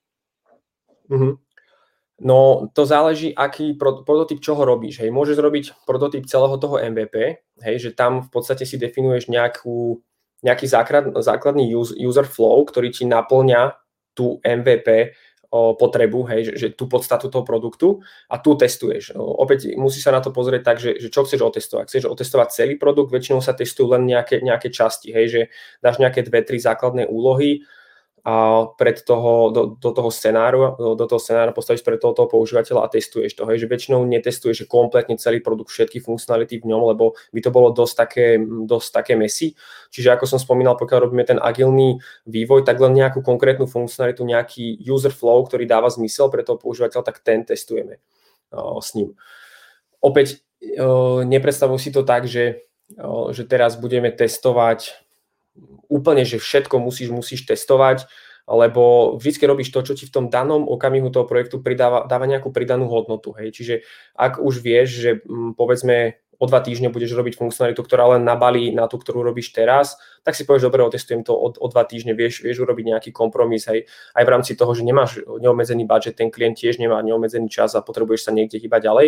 No to záleží, aký prototyp čoho robíš. Hej, môžeš robiť prototyp celého toho MVP, hej, že tam v podstate si definuješ nejaký základný user flow, ktorý ti naplňa tú MVP potrebu, hej, že tú podstatu toho produktu a tu testuješ. Opäť musíš sa na to pozrieť tak, že čo chceš otestovať. Chceš otestovať celý produkt, väčšinou sa testujú len nejaké časti, hej, že dáš nejaké 2-3 základné úlohy a do toho scenáru postavíš pre toho používateľa a testuješ to. Hej, že väčšinou netestuješ, že kompletne celý produkt, všetky funkcionality v ňom, lebo by to bolo dosť také messy. Čiže ako som spomínal, pokiaľ robíme ten agilný vývoj, tak len nejakú konkrétnu funkcionalitu, nejaký user flow, ktorý dáva zmysel pre toho používateľa, tak ten testujeme s ním. Opäť nepredstavuj si to tak, že teraz budeme testovať úplne, že všetko musíš testovať, lebo vždy robíš to, čo ti v tom danom okamihu toho projektu dáva nejakú pridanú hodnotu. Hej. Čiže ak už vieš, že povedzme o 2 týždne budeš robiť funkcionalitu, ktorá len nabalí na tú, ktorú robíš teraz, tak si povieš, dobre, otestujem to o 2 týždne, vieš urobiť nejaký kompromis, hej, aj v rámci toho, že nemáš neobmedzený budget, ten klient tiež nemá neobmedzený čas a potrebuješ sa niekde hýbať ďalej.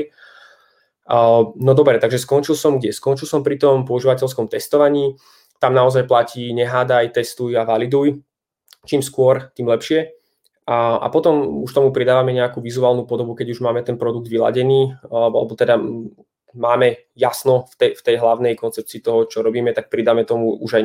No dobre, takže skončil som kde? Skončil som pri tom používateľskom testovaní. Tam naozaj platí nehádaj, testuj a validuj. Čím skôr, tým lepšie. A potom už tomu pridávame nejakú vizuálnu podobu, keď už máme ten produkt vyladený, alebo teda máme jasno v tej hlavnej koncepcii toho, čo robíme, tak pridáme tomu už aj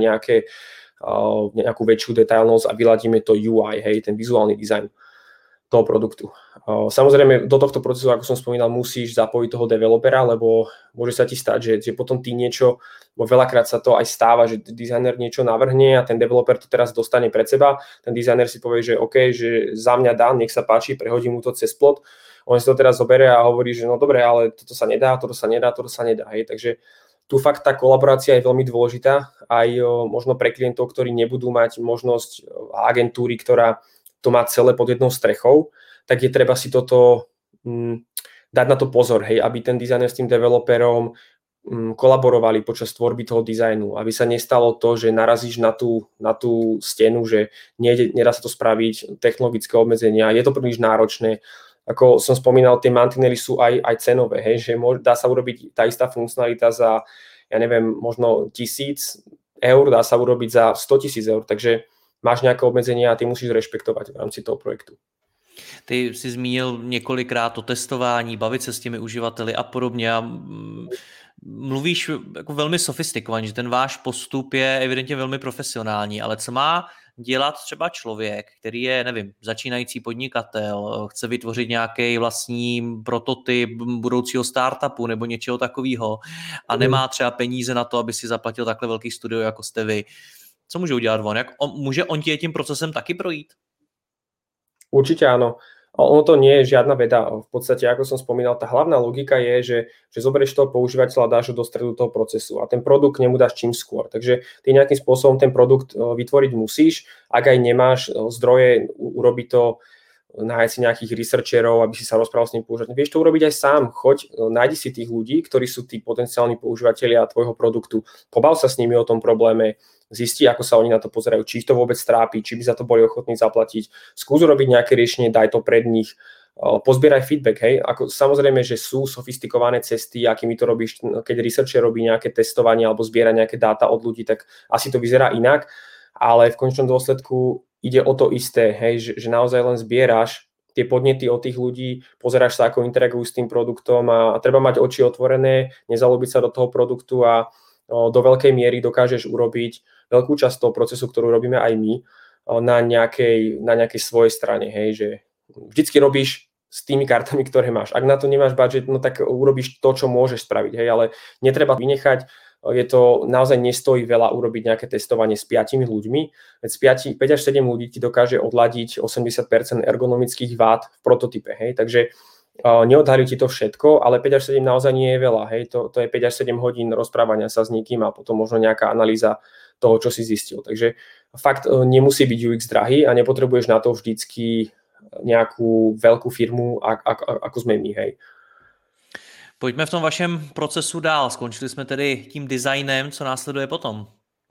nejakú väčšiu detailnosť a vyladíme to UI, hej, ten vizuálny dizajn toho produktu. Samozrejme, do tohto procesu, ako som spomínal, musíš zapojiť toho developera, lebo môže sa ti stať, že potom ty niečo, bo veľakrát sa to aj stáva, že dizajner niečo navrhne a ten developer to teraz dostane pred seba, ten dizajner si povie, že OK, že za mňa dá, nech sa páči, prehodí mu to cez plot, on si to teraz zoberie a hovorí, že no dobre, ale toto sa nedá, hej, takže tu fakt tá kolaborácia je veľmi dôležitá, aj možno pre klientov, ktorí nebudú mať možnosť agentúry, ktorá to má celé pod jednou strechou, tak je treba si toto dať na to pozor, hej, aby ten dizajner s tým developerom kolaborovali počas tvorby toho dizajnu, aby sa nestalo to, že narazíš na tú stenu, že nedá sa to spraviť, technologické obmedzenia, je to príliš náročné. Ako som spomínal, tie mantinely sú aj cenové, hej, že dá sa urobiť tá istá funkcionalita za, ja neviem, možno 1,000 eur, dá sa urobiť za 100,000 eur, takže máš nějaké obmedzení a ty musíš respektovat v rámci toho projektu. Ty jsi zmínil několikrát o testování, bavit se s těmi uživateli a podobně a mluvíš jako velmi sofistikovaně, že ten váš postup je evidentně velmi profesionální, ale co má dělat třeba člověk, který je, nevím, začínající podnikatel, chce vytvořit nějaký vlastní prototyp budoucího startupu nebo něčeho takového a nemá třeba peníze na to, aby si zaplatil takhle velký studio, jako jste vy. Co môže udělat on? Môže on tím procesem taky projít? Určite áno. Ono to nie je žiadna veda. V podstate, ako som spomínal, tá hlavná logika je, že zoberieš toho používateľa a dáš ho do stredu toho procesu a ten produkt nemu dáš čím skôr. Takže ty nejakým spôsobom ten produkt vytvoriť musíš. Ak aj nemáš zdroje urobiť to, nájsť si nejakých researcherov, aby si sa rozprával s ním používateľom. Vieš to urobiť aj sám. Choď, nájdi si tých ľudí, ktorí sú tí potenciálni používateľia tvojho produktu. Pobav sa s nimi o tom probléme, zistí, ako sa oni na to pozerajú, či ich to vôbec trápi, či by za to boli ochotní zaplatiť. Skús urobiť nejaké riešenie, daj to pred nich pozbieraj feedback, hej. Ako, samozrejme, že sú sofistikované cesty, akými to robíš, keď researcher robí nejaké testovanie alebo zbiera nejaké dáta od ľudí, tak asi to vyzerá inak, ale v konečnom dôsledku ide o to isté, hej, že naozaj len zbieráš tie podnety od tých ľudí, pozeráš sa, ako interagujú s tým produktom a treba mať oči otvorené, nezalúbiť sa do toho produktu a do veľkej miery dokážeš urobiť veľkú časť toho procesu, ktorú robíme aj my, na nejakej svojej strane, hej, že vždycky robíš s tými kartami, ktoré máš. Ak na to nemáš budget, no tak urobíš to, čo môžeš spraviť, hej, ale netreba vynechať, je to naozaj nestojí veľa urobiť nejaké testovanie s 5 ľuďmi, veď z 5 až 7 ľudí ti dokáže odladiť 80% ergonomických vád v prototype, hej, takže neodhalí ti to všetko, ale 5 až 7 naozaj nie je veľa, hej, to je 5 až 7 hodín rozprávania sa s niekým a potom možno nejaká analýza toho, čo si zistil, takže fakt nemusí byť UX drahý a nepotrebuješ na to vždycky nejakú veľkú firmu, ako sme my, hej. Pojďme v tom vašem procesu dál. Skončili jsme tedy tím designem, co následuje potom?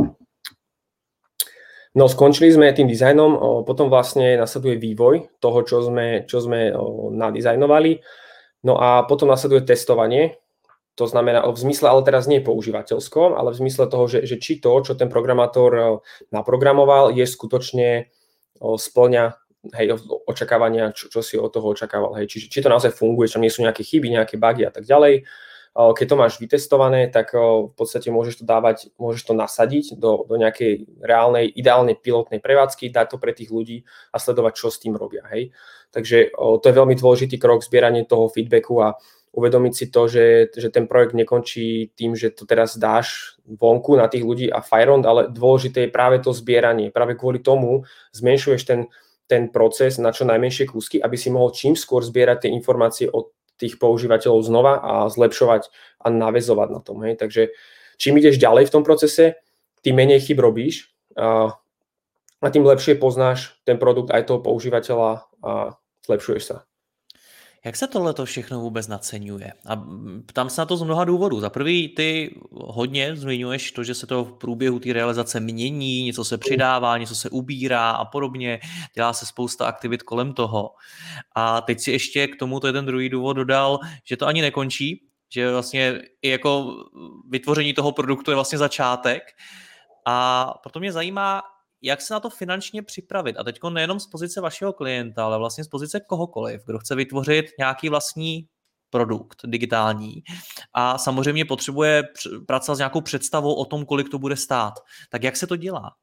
No, skončili sme tým dizajnom, potom vlastne nasleduje vývoj toho, čo sme nadizajnovali. No a potom nasleduje testovanie, to znamená v zmysle, ale teraz nie používateľskom, ale v zmysle toho, že či to, čo ten programátor naprogramoval, je skutočne spĺňa očakávania, čo si od toho očakával. Hej. Či to naozaj funguje, či nie sú nejaké chyby, nejaké bugy a tak ďalej. Keď to máš vytestované, tak v podstate môžeš to nasadiť do nejakej reálnej, ideálnej pilotnej prevádzky, dať to pre tých ľudí a sledovať, čo s tým robia. Hej. Takže to je veľmi dôležitý krok, zbieranie toho feedbacku a uvedomiť si to, že ten projekt nekončí tým, že to teraz dáš vonku na tých ľudí a fajrond, ale dôležité je práve to zbieranie. Práve kvôli tomu zmenšuješ ten proces na čo najmenšie kúsky, aby si mohol čím skôr zbierať tie informácie od tých používateľov znova a zlepšovať a naväzovať na tom. Hej. Takže čím ideš ďalej v tom procese, tým menej chyb robíš a tým lepšie poznáš ten produkt aj toho používateľa a zlepšuješ sa. Jak se tohleto všechno vůbec naceňuje? A ptám se na to z mnoha důvodů. Za prvý, ty hodně zmiňuješ to, že se to v průběhu té realizace mění, něco se přidává, něco se ubírá a podobně. Dělá se spousta aktivit kolem toho. A teď si ještě k tomu ten druhý důvod dodal, že to ani nekončí, že vlastně i jako vytvoření toho produktu je vlastně začátek. A proto mě zajímá, jak se na to finančně připravit. A teď nejenom z pozice vašeho klienta, ale vlastně z pozice kohokoliv, kdo chce vytvořit nějaký vlastní produkt digitální a samozřejmě potřebuje pracovat s nějakou představou o tom, kolik to bude stát. Tak jak se to dělá?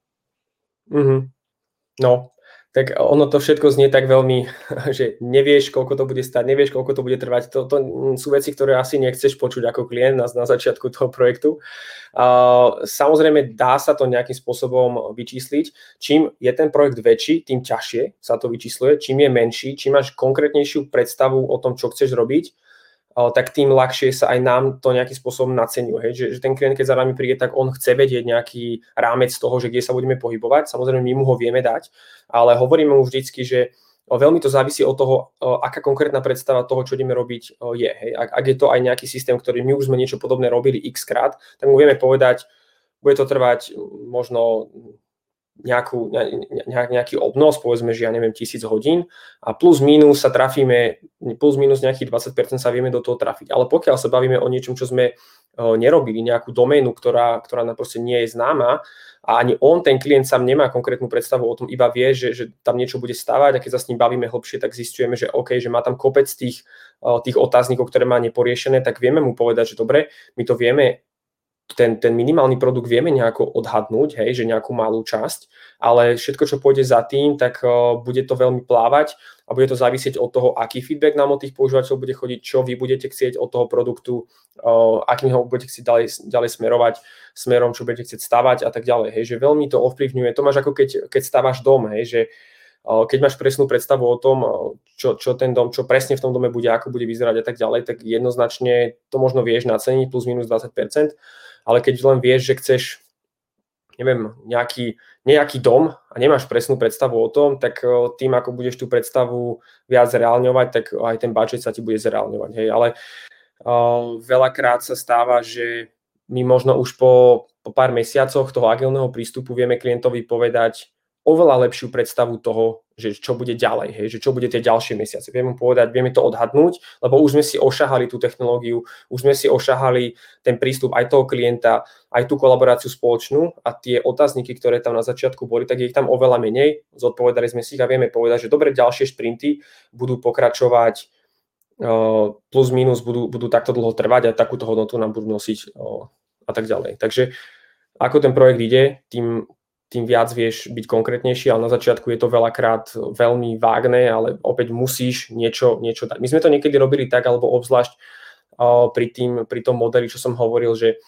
No, tak ono to všetko znie tak veľmi, že nevieš, koľko to bude stať, nevieš, koľko to bude trvať. To sú veci, ktoré asi nechceš počuť ako klient na začiatku toho projektu. Samozrejme, dá sa to nejakým spôsobom vyčísliť. Čím je ten projekt väčší, tým ťažšie sa to vyčísluje. Čím je menší, čím máš konkrétnejšiu predstavu o tom, čo chceš robiť, tak tým ľahšie sa aj nám to nejakým spôsobom naceňuje. Že ten klient, keď za nami príde, tak on chce vedieť nejaký rámec toho, že kde sa budeme pohybovať. Samozrejme, my mu ho vieme dať, ale hovoríme mu vždycky, že veľmi to závisí od toho, aká konkrétna predstava toho, čo ideme robiť, je. Hej. Ak je to aj nejaký systém, ktorý my už sme niečo podobné robili x krát, tak mu vieme povedať, bude to trvať možno nejaký obnos, povedzme, že ja neviem, 1000 hodín a plus minus sa trafíme, plus minus nejakých 20% sa vieme do toho trafiť. Ale pokiaľ sa bavíme o niečom, čo sme nerobili, nejakú doménu, ktorá nám proste nie je známa a ani ten klient sám nemá konkrétnu predstavu o tom, iba vie, že tam niečo bude stávať a keď sa s ním bavíme hlbšie, tak zistujeme, že OK, že má tam kopec tých otáznikov, ktoré má neporiešené, tak vieme mu povedať, že dobre, my to vieme, ten minimálny produkt vieme nejako odhadnúť, hej, že nejakú malú časť, ale všetko, čo pôjde za tým, tak bude to veľmi plávať a bude to závisieť od toho, aký feedback nám od tých používateľov bude chodiť, čo vy budete chcieť od toho produktu, akým ho budete chcieť ďalej smerovať, smerom, čo budete chcieť stavať a tak ďalej. Hej, že veľmi to ovplyvňuje. To máš ako keď staváš dom, hej, že keď máš presnú predstavu o tom, čo ten dom, čo presne v tom dome bude, ako bude vyzerať a tak ďalej, tak jednoznačne to možno vieš naceniť plus minus 20%, ale keď len vieš, že chceš, neviem, nejaký dom a nemáš presnú predstavu o tom, tak tým, ako budeš tú predstavu viac zreálňovať, tak aj ten budget sa ti bude zreálňovať. Hej. Ale veľakrát sa stáva, že my možno už po pár mesiacoch toho agilného prístupu vieme klientovi povedať oveľa lepšiu predstavu toho, že čo bude ďalej, hej, že čo bude tie ďalšie mesiace. Vieme povedať, vieme to odhadnúť, lebo už sme si ošahali tú technológiu, už sme si ošahali ten prístup aj toho klienta, aj tú kolaboráciu spoločnú a tie otázniky, ktoré tam na začiatku boli, tak je ich tam oveľa menej. Zodpovedali sme si ich a vieme povedať, že dobre, ďalšie šprinty budú pokračovať plus minus, budú takto dlho trvať a takúto hodnotu nám budú nosiť a tak ďalej. Takže ako ten projekt ide, tým viac vieš byť konkrétnejší, ale na začiatku je to veľakrát veľmi vágne, ale opäť musíš niečo dať. My sme to niekedy robili tak, alebo obzvlášť pri tom modeli, čo som hovoril, že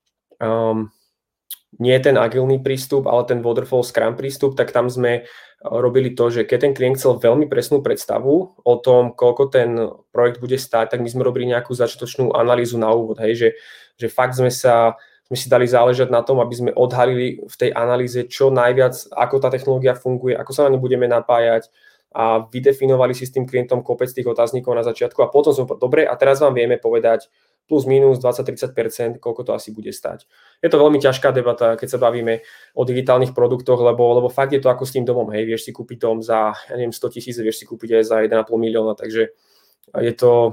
nie je ten agilný prístup, ale ten waterfall scrum prístup, tak tam sme robili to, že keď ten klient chcel veľmi presnú predstavu o tom, koľko ten projekt bude stáť, tak my sme robili nejakú začiatočnú analýzu na úvod, hej, že fakt sme si dali záležať na tom, aby sme odhalili v tej analýze čo najviac, ako tá technológia funguje, ako sa na ňu budeme napájať a vydefinovali si s tým klientom kopec tých otáznikov na začiatku a potom sme dobre a teraz vám vieme povedať plus minus 20-30%, koľko to asi bude stať. Je to veľmi ťažká debata, keď sa bavíme o digitálnych produktoch, lebo fakt je to ako s tým domom, hej, vieš si kúpiť dom za, 100 000, vieš si kúpiť aj za 1,5 milióna, takže je to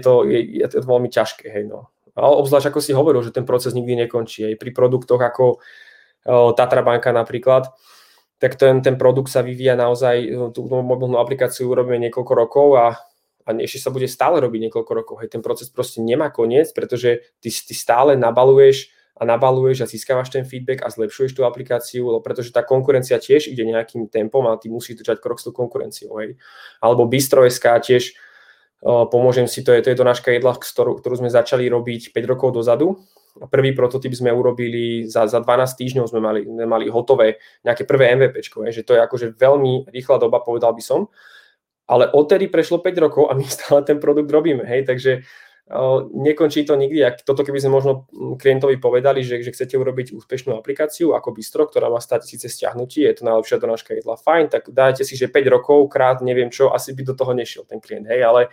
veľmi ťažké, hej, no. Ale obzvlášť, ako si hovoril, že ten proces nikdy nekončí. Aj pri produktoch ako Tatra banka napríklad, tak ten produkt sa vyvíja naozaj, tú mobilnú aplikáciu robíme niekoľko rokov a ešte sa bude stále robiť niekoľko rokov. Hej, ten proces proste nemá koniec, pretože ty stále nabaluješ a získavaš ten feedback a zlepšuješ tú aplikáciu, pretože tá konkurencia tiež ide nejakým tempom a ty musíš držať krok s tú konkurenciou. Hej. Alebo Bistro.sk tiež pomôžem si, to je donáška jedla, ktorú sme začali robiť 5 rokov dozadu. Prvý prototyp sme urobili za 12 týždňov sme mali hotové nejaké prvé MVPčko, že to je akože veľmi rýchla doba, povedal by som. Ale odtedy prešlo 5 rokov a my stále ten produkt robíme, hej, takže nekončí to nikdy. Toto keby sme možno klientovi povedali, že chcete urobiť úspešnú aplikáciu ako Bistro, ktorá má 100 000 stiahnutí, je to najlepšia donáška jedla, fajn, tak dajte si, že 5 rokov krát neviem čo, asi by do toho nešiel ten klient, hej, ale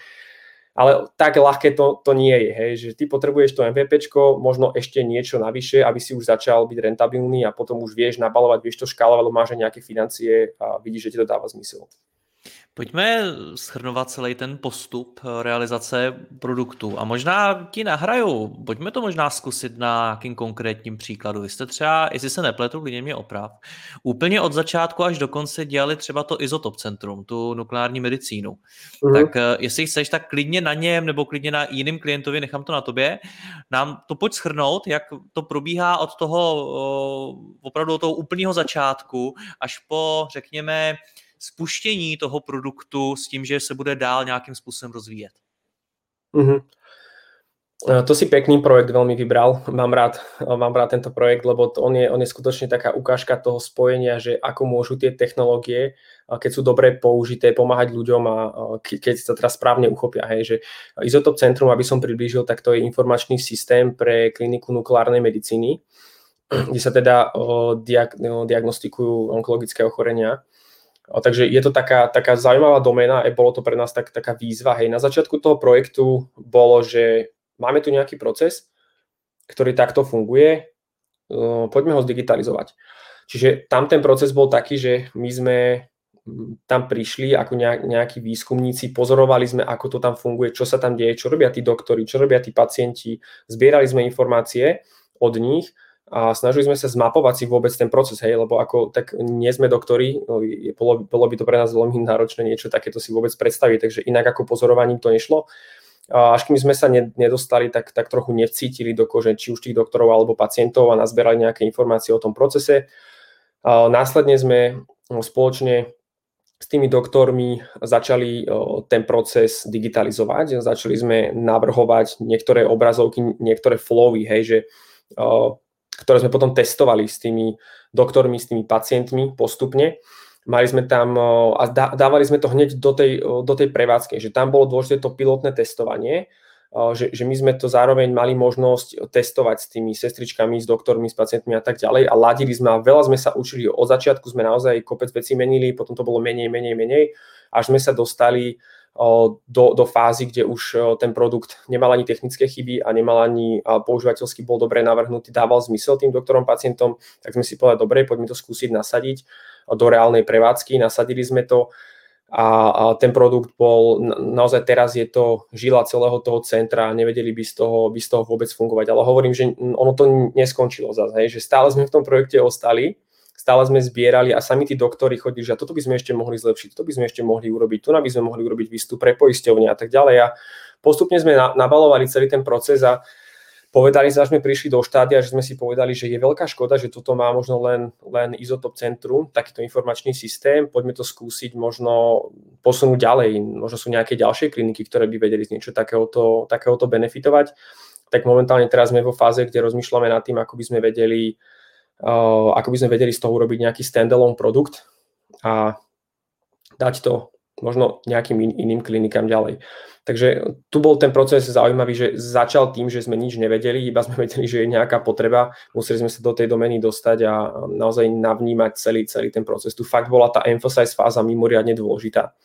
tak ľahké to nie je, hej, že ty potrebuješ to MVPčko, možno ešte niečo navyše, aby si už začal byť rentabilný a potom už vieš nabalovať, vieš to škálovať, lebo máš aj nejaké financie a vidíš, že ti to dáva zmysel. Pojďme shrnovat celý ten postup realizace produktu a možná ti nahraju, pojďme to možná zkusit na nějakým konkrétním příkladu. Vy jste třeba, jestli se nepletu, klidně mě oprav, úplně od začátku až do konce dělali třeba to Izotop centrum, tu nukleární medicínu. Tak jestli chceš, tak klidně na něm nebo klidně na jiným klientovi, nechám to na tobě, nám to pojď shrnout, jak to probíhá od toho opravdu od toho úplného začátku až po, řekněme, spuštění toho produktu s tím, že se bude dál nějakým způsobem rozvíjet. To si pekný projekt veľmi vybral. Mám rád tento projekt, lebo on je skutočne taká ukážka toho spojenia, že ako môžu tie technológie, keď sú dobre použité, pomáhať ľuďom a keď sa teraz správne uchopia. Hej, že Izotop centrum, aby som priblížil, tak to je informačný systém pre kliniku nukleárnej medicíny, kde sa teda diagnostikujú onkologické ochorenia. Takže je to taká zaujímavá doména a bolo to pre nás taká výzva. Hej. Na začiatku toho projektu bolo, že máme tu nejaký proces, ktorý takto funguje, poďme ho zdigitalizovať. Čiže tam ten proces bol taký, že my sme tam prišli ako nejakí výskumníci, pozorovali sme, ako to tam funguje, čo sa tam deje, čo robia tí doktori, čo robia tí pacienti, zbierali sme informácie od nich a snažili sme sa zmapovať si vôbec ten proces, hej, lebo tak nie sme doktori, bolo by to pre nás veľmi náročné niečo takéto si vôbec predstaviť, takže inak ako pozorovaním to nešlo. Až kým sme sa nedostali, tak trochu nevcítili do kože či už tých doktorov alebo pacientov a nazberali nejaké informácie o tom procese. Následne sme spoločne s tými doktormi začali ten proces digitalizovať, začali sme navrhovať niektoré obrazovky, niektoré flowy, hej, že ktoré sme potom testovali s tými doktormi, s tými pacientmi postupne. Mali sme tam a dávali sme to hneď do tej prevádzky, že tam bolo dôležité to pilotné testovanie, že my sme to zároveň mali možnosť testovať s tými sestričkami, s doktormi, s pacientmi a tak ďalej a ladili sme a veľa sme sa učili. Od začiatku sme naozaj kopec vecí menili, potom to bolo menej, až sme sa dostali do fázy, kde už ten produkt nemal ani technické chyby a nemal ani používateľsky bol dobre navrhnutý, dával zmysel tým doktorom, pacientom, tak sme si povedali, dobre, poďme to skúsiť nasadiť. do reálnej prevádzky, nasadili sme to a ten produkt bol, naozaj teraz je to žila celého toho centra a nevedeli by z toho vôbec fungovať. Ale hovorím, že ono to neskončilo zase, hej, že stále sme v tom projekte ostali, stále sme zbierali a sami tí doktori chodili, že toto by sme ešte mohli zlepšiť, toto by sme ešte mohli urobiť, tu by sme mohli urobiť výstup pre poisťovne a tak ďalej. A postupne sme nabalovali celý ten proces a povedali sme prišli do štádia, že sme si povedali, že je veľká škoda, že toto má možno len Izotop centrum, takýto informačný systém, poďme to skúsiť možno posunúť ďalej, možno sú nejaké ďalšie kliniky, ktoré by vedeli z niečo takéhoto benefitovať. Tak momentálne teraz sme vo fáze, kde rozmýšľame nad tým, ako by sme vedeli z toho urobiť nejaký standalone produkt a dať to možno nejakým iným klinikám ďalej. Takže tu bol ten proces zaujímavý, že začal tým, že sme nič nevedeli, iba sme vedeli, že je nejaká potreba, museli sme sa do tej domény dostať a naozaj navnímať celý ten proces. Tu fakt bola tá emphasize fáza mimoriadne dôležitá.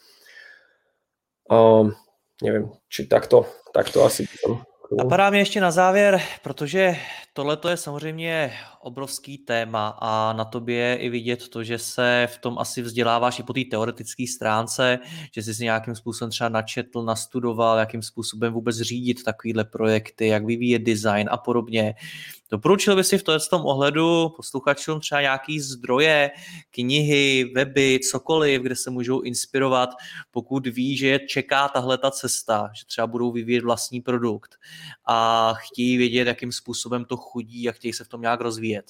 Neviem, či takto asi... Napadá mě ještě na závěr, protože tohle je samozřejmě obrovský téma a na tobě je i vidět to, že se v tom asi vzděláváš i po té teoretické stránce, že jsi si nějakým způsobem třeba načetl, nastudoval, jakým způsobem vůbec řídit takovýhle projekty, jak vyvíjet design a podobně. Doporučil by si v tom ohledu posluchačům třeba nějaký zdroje, knihy, weby, cokoliv, kde se můžou inspirovat, pokud ví, že je čeká tahle ta cesta, že třeba budou vyvíjet vlastní produkt a chtějí vědět, jakým způsobem to chodí a chtějí se v tom nějak rozvíjet.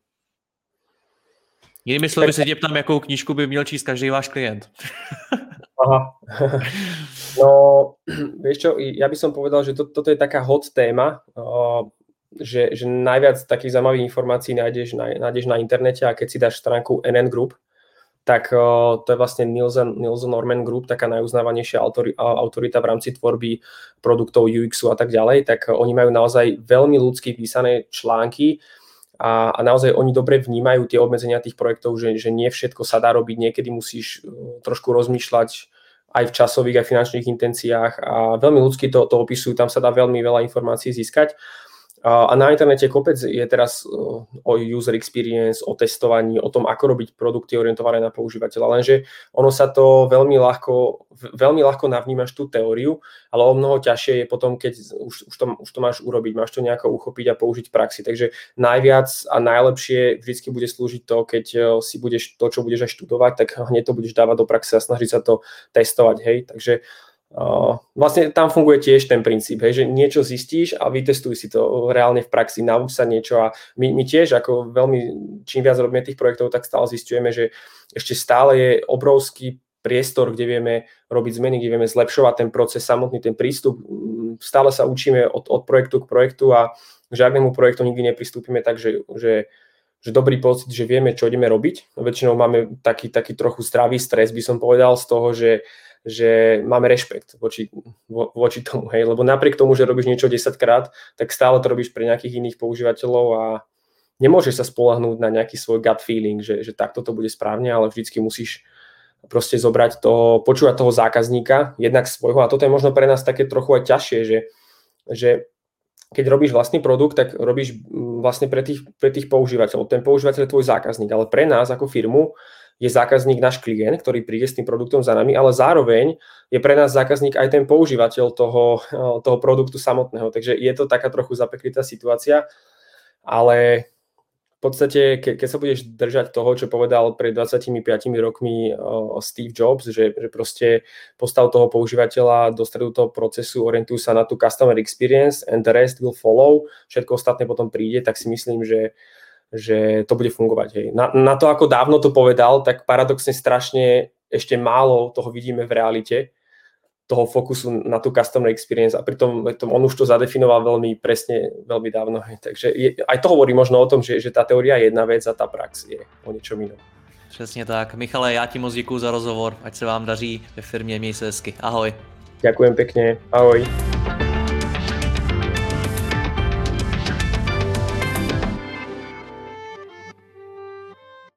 Jinými slovy se tě ptám, jakou knížku by měl číst každý váš klient. Aha. No, vieš čo, ja by som povedal, že toto je taká hot téma, že najviac takých zaujímavých informácií nájdeš na internete a keď si dáš stránku NN Group, tak to je vlastne Nielsen Norman Group, taká najuznávanejšia autorita v rámci tvorby produktov UX-u a tak ďalej, tak oni majú naozaj veľmi ľudsky písané články a naozaj oni dobre vnímajú tie obmedzenia tých projektov, že nie všetko sa dá robiť, niekedy musíš trošku rozmýšľať aj v časových a finančných intenciách a veľmi ľudsky to opisujú, tam sa dá veľmi veľa informácií získať. A na internete kopec je teraz o user experience, o testovaní, o tom, ako robiť produkty orientované na používateľa. Lenže ono sa to veľmi ľahko navnímaš tú teóriu, ale o mnoho ťažšie je potom, keď už to máš urobiť, máš to nejako uchopiť a použiť v praxi. Takže najviac a najlepšie vždycky bude slúžiť to, keď si budeš to, čo budeš aj študovať, tak hneď to budeš dávať do praxe a snažiť sa to testovať. Hej? Takže vlastne tam funguje tiež ten princíp, hej, že niečo zistíš a vytestuj si to reálne v praxi, nauč sa niečo a my tiež ako veľmi, čím viac robíme tých projektov, tak stále zisťujeme, že ešte stále je obrovský priestor, kde vieme robiť zmeny, kde vieme zlepšovať ten proces samotný, ten prístup. Stále sa učíme od projektu k projektu a k žiadnemu projektu nikdy nepristúpime tak, že dobrý pocit, že vieme, čo ideme robiť. Väčšinou máme taký trochu zdravý stres, by som povedal, z toho, že máme rešpekt voči tomu, hej, lebo napriek tomu, že robíš niečo 10-krát, tak stále to robíš pre nejakých iných používateľov a nemôžeš sa spoľahnúť na nejaký svoj gut feeling, že takto to bude správne, ale vždycky musíš proste zobrať počúvať toho zákazníka, jednak svojho, a toto je možno pre nás také trochu aj ťažšie, že keď robíš vlastný produkt, tak robíš vlastne pre tých používateľov. Ten používateľ je tvoj zákazník, ale pre nás ako firmu je zákazník náš klient, ktorý príde s tým produktom za nami, ale zároveň je pre nás zákazník aj ten používateľ toho produktu samotného. Takže je to taká trochu zapeklitá situácia, ale v podstate, keď sa budeš držať toho, čo povedal pred 25 rokmi Steve Jobs, že proste postav toho používateľa do stredu toho procesu, orientuj sa na tú customer experience and the rest will follow, všetko ostatné potom príde, tak si myslím, že to bude fungovať. Hej. Na to, ako dávno to povedal, tak paradoxne strašne ešte málo toho vidíme v realite, toho fokusu na tú customer experience a pritom on už to zadefinoval veľmi presne, veľmi dávno. Hej. Takže aj to hovorí možno o tom, že tá teória je jedna vec a tá prax je o niečom inom. Přesně tak. Michale, já ti moc děkuju za rozhovor. Ať se vám daří ve firmě, měj se hezky. Ahoj. Ďakujem pekne. Ahoj.